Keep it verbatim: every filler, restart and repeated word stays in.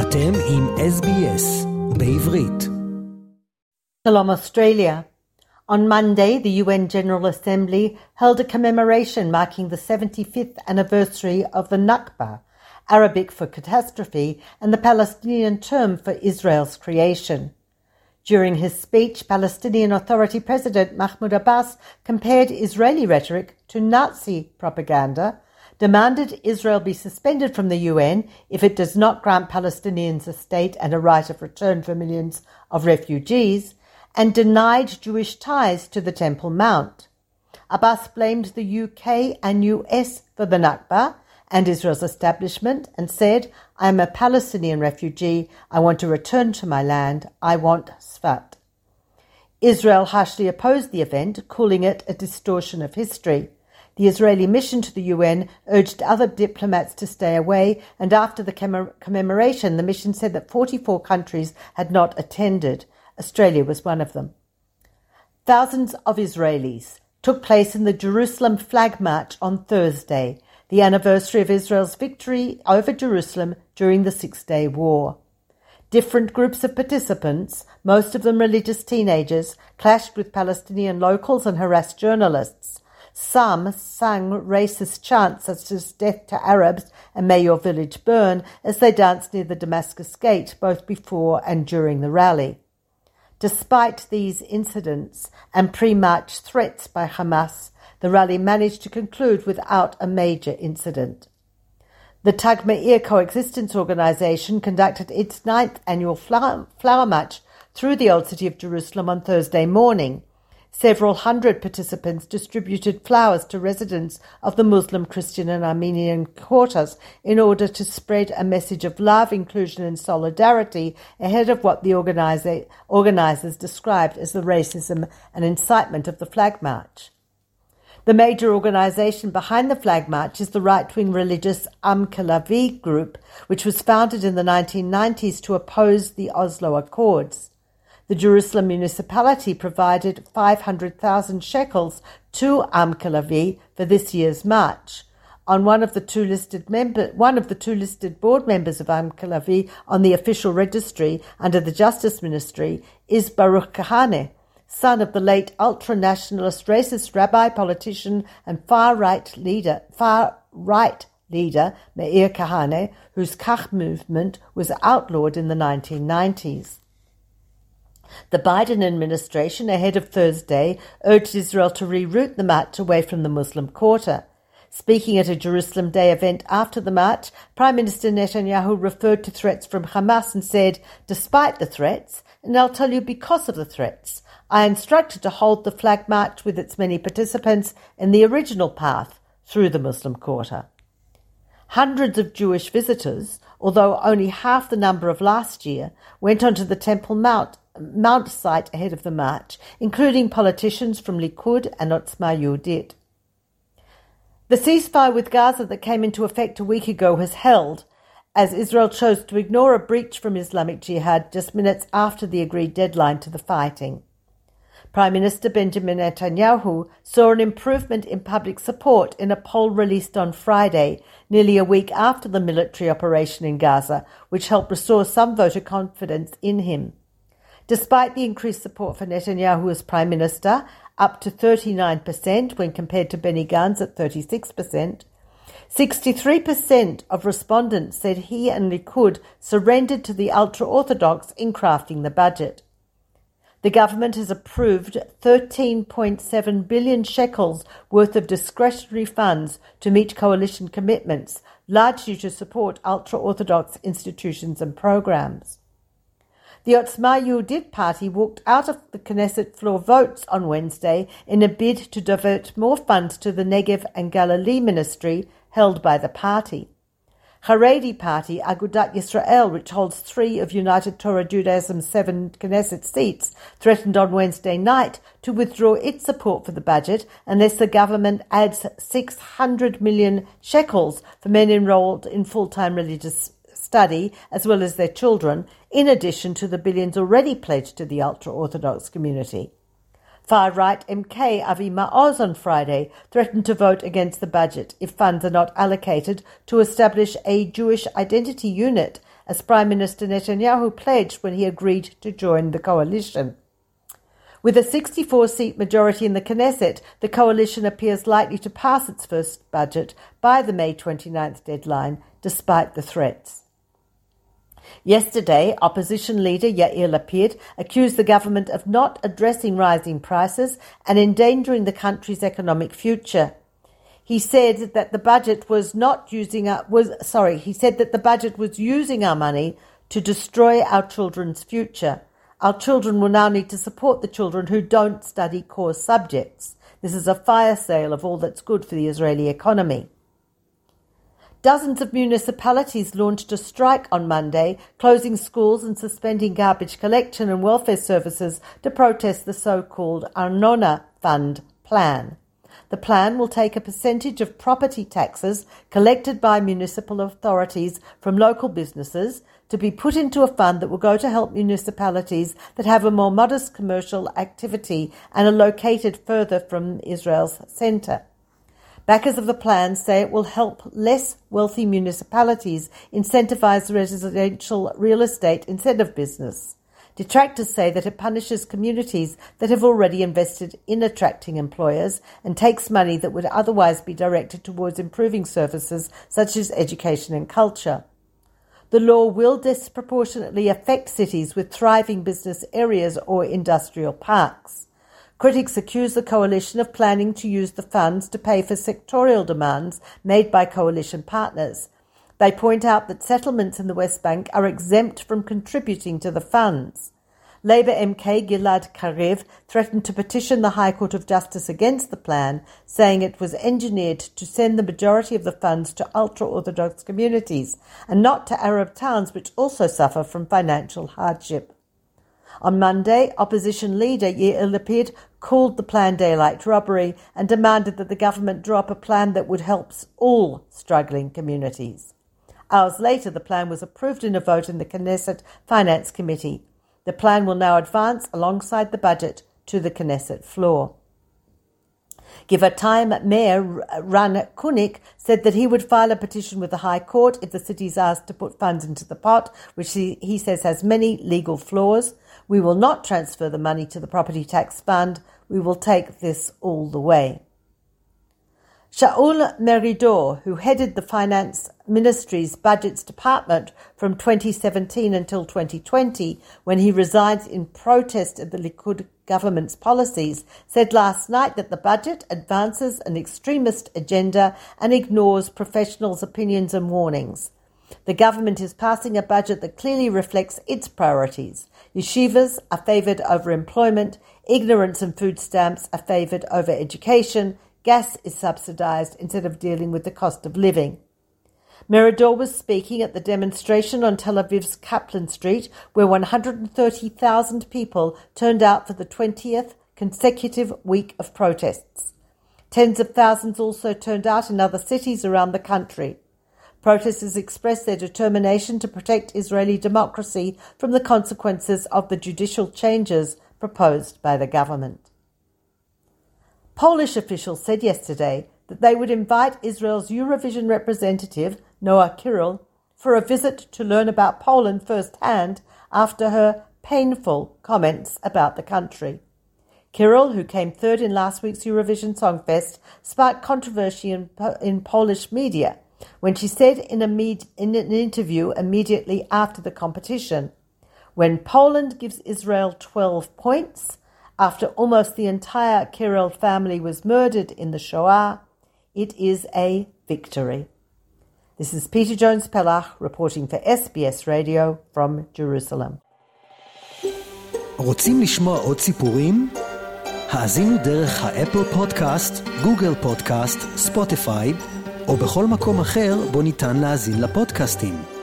אתם עם S B S בעברית. Shalom Australia. On Monday, the U N General Assembly held a commemoration marking the seventy-fifth anniversary of the Nakba, Arabic for catastrophe, and the Palestinian term for Israel's creation. During his speech, Palestinian Authority President Mahmoud Abbas compared Israeli rhetoric to Nazi propaganda, demanded Israel be suspended from the U N if it does not grant Palestinians a state and a right of return for millions of refugees, and denied Jewish ties to the Temple Mount. Abbas blamed the U K and U S for the Nakba and Israel's establishment and said, "I am a Palestinian refugee. I want to return to my land. I want Sfat." Israel harshly opposed the event, calling it a distortion of history. The Israeli mission to the U N urged other diplomats to stay away, and after the commemoration, the mission said that forty-four countries had not attended. Australia was one of them. Thousands of Israelis took place in the Jerusalem Flag March on Thursday, the anniversary of Israel's victory over Jerusalem during the Six-Day War. Different groups of participants, most of them religious teenagers, clashed with Palestinian locals and harassed journalists. Some sang racist chants such as "Death to Arabs" and "May your village burn" as they danced near the Damascus Gate, both before and during the rally. Despite these incidents and pre-march threats by Hamas, the rally managed to conclude without a major incident. The Tag Meir Coexistence Organization conducted its ninth annual flower, flower march through the Old City of Jerusalem on Thursday morning. Several hundred participants distributed flowers to residents of the Muslim, Christian and Armenian quarters in order to spread a message of love, inclusion and solidarity ahead of what the organizer, organizers described as the racism and incitement of the flag march. The major organization behind the flag march is the right-wing religious Am Kelavi group, which was founded in the nineteen nineties to oppose the Oslo Accords. The Jerusalem municipality provided five hundred thousand shekels to Am Kelavi for this year's march. On one of the two listed member, one of the two listed board members of Am Kelavi on the official registry under the Justice Ministry is Baruch Kahane, son of the late ultra-nationalist racist rabbi, politician and far-right leader, far-right leader Meir Kahane, whose Kach movement was outlawed in the nineteen nineties. The Biden administration, ahead of Thursday, urged Israel to reroute the march away from the Muslim Quarter. Speaking at a Jerusalem Day event after the march, Prime Minister Netanyahu referred to threats from Hamas and said, "Despite the threats, and I'll tell you because of the threats, I instructed to hold the flag march with its many participants in the original path through the Muslim Quarter." Hundreds of Jewish visitors, although only half the number of last year, went onto the Temple Mount Mount site ahead of the march, including politicians from Likud and Otzma Yehudit. The ceasefire with Gaza that came into effect a week ago has held, as Israel chose to ignore a breach from Islamic Jihad just minutes after the agreed deadline to the fighting. Prime Minister Benjamin Netanyahu saw an improvement in public support in a poll released on Friday, nearly a week after the military operation in Gaza, which helped restore some voter confidence in him. Despite the increased support for Netanyahu as Prime Minister, up to thirty-nine percent when compared to Benny Gantz at thirty-six percent, sixty-three percent of respondents said he and Likud surrendered to the ultra-Orthodox in crafting the budget. The government has approved thirteen point seven billion shekels worth of discretionary funds to meet coalition commitments, largely to support ultra-Orthodox institutions and programs. The Otzma Yehudit party walked out of the Knesset floor votes on Wednesday in a bid to divert more funds to the Negev and Galilee ministry held by the party. Haredi party Agudat Yisrael, which holds three of United Torah Judaism's seven Knesset seats, threatened on Wednesday night to withdraw its support for the budget unless the government adds six hundred million shekels for men enrolled in full-time religious study, as well as their children, in addition to the billions already pledged to the ultra-Orthodox community. Far-right M K Avi Maoz on Friday threatened to vote against the budget if funds are not allocated to establish a Jewish identity unit as Prime Minister Netanyahu pledged when he agreed to join the coalition. With a sixty-four seat majority in the Knesset, the coalition appears likely to pass its first budget by the May twenty-ninth deadline, despite the threats. Yesterday, opposition leader Yair Lapid accused the government of not addressing rising prices and endangering the country's economic future. He said that the budget was not using our, was sorry. He said that the budget was using our money to destroy our children's future. Our children will now need to support the children who don't study core subjects. This is a fire sale of all that's good for the Israeli economy. Dozens of municipalities launched a strike on Monday, closing schools and suspending garbage collection and welfare services to protest the so-called Arnona Fund plan. The plan will take a percentage of property taxes collected by municipal authorities from local businesses to be put into a fund that will go to help municipalities that have a more modest commercial activity and are located further from Israel's centre. Backers of the plan say it will help less wealthy municipalities incentivize residential real estate instead of business. Detractors say that it punishes communities that have already invested in attracting employers and takes money that would otherwise be directed towards improving services such as education and culture. The law will disproportionately affect cities with thriving business areas or industrial parks. Critics accuse the coalition of planning to use the funds to pay for sectorial demands made by coalition partners. They point out that settlements in the West Bank are exempt from contributing to the funds. Labour M K Gilad Kariv threatened to petition the High Court of Justice against the plan, saying it was engineered to send the majority of the funds to ultra-Orthodox communities and not to Arab towns which also suffer from financial hardship. On Monday, opposition leader Yair Lapid called the plan daylight robbery and demanded that the government drop a plan that would help all struggling communities. Hours later, the plan was approved in a vote in the Knesset Finance Committee. The plan will now advance alongside the budget to the Knesset floor. Givatayim Mayor Ran Kunik said that he would file a petition with the High Court if the city is asked to put funds into the pot, which he, he says has many legal flaws. We will not transfer the money to the property tax fund. We will take this all the way. Shaul Meridor, who headed the Finance Ministry's Budgets Department from twenty seventeen until twenty twenty, when he resigned in protest of the Likud government's policies, said last night that the budget advances an extremist agenda and ignores professionals' opinions and warnings. The government is passing a budget that clearly reflects its priorities. Yeshivas are favoured over employment, ignorance and food stamps are favoured over education, gas is subsidised instead of dealing with the cost of living. Meridor was speaking at the demonstration on Tel Aviv's Kaplan Street, where one hundred thirty thousand people turned out for the twentieth consecutive week of protests. Tens of thousands also turned out in other cities around the country. Protesters expressed their determination to protect Israeli democracy from the consequences of the judicial changes proposed by the government. Polish officials said yesterday that they would invite Israel's Eurovision representative, Noah Kiril, for a visit to learn about Poland firsthand after her painful comments about the country. Kiril, who came third in last week's Eurovision Song Fest, sparked controversy in, in Polish media when she said in, a med- in an interview immediately after the competition, "When Poland gives Israel twelve points, after almost the entire Kiril family was murdered in the Shoah, it is a victory." This is Peter Jones-Pellach reporting for S B S Radio from Jerusalem. רוצים לשמוע עוד סיפורים? האזינו דרך האפל פודקאסט, גוגל פודקאסט, ספוטיפיי, או בכל מקום אחר בו ניתן להאזין לפודקאסטים.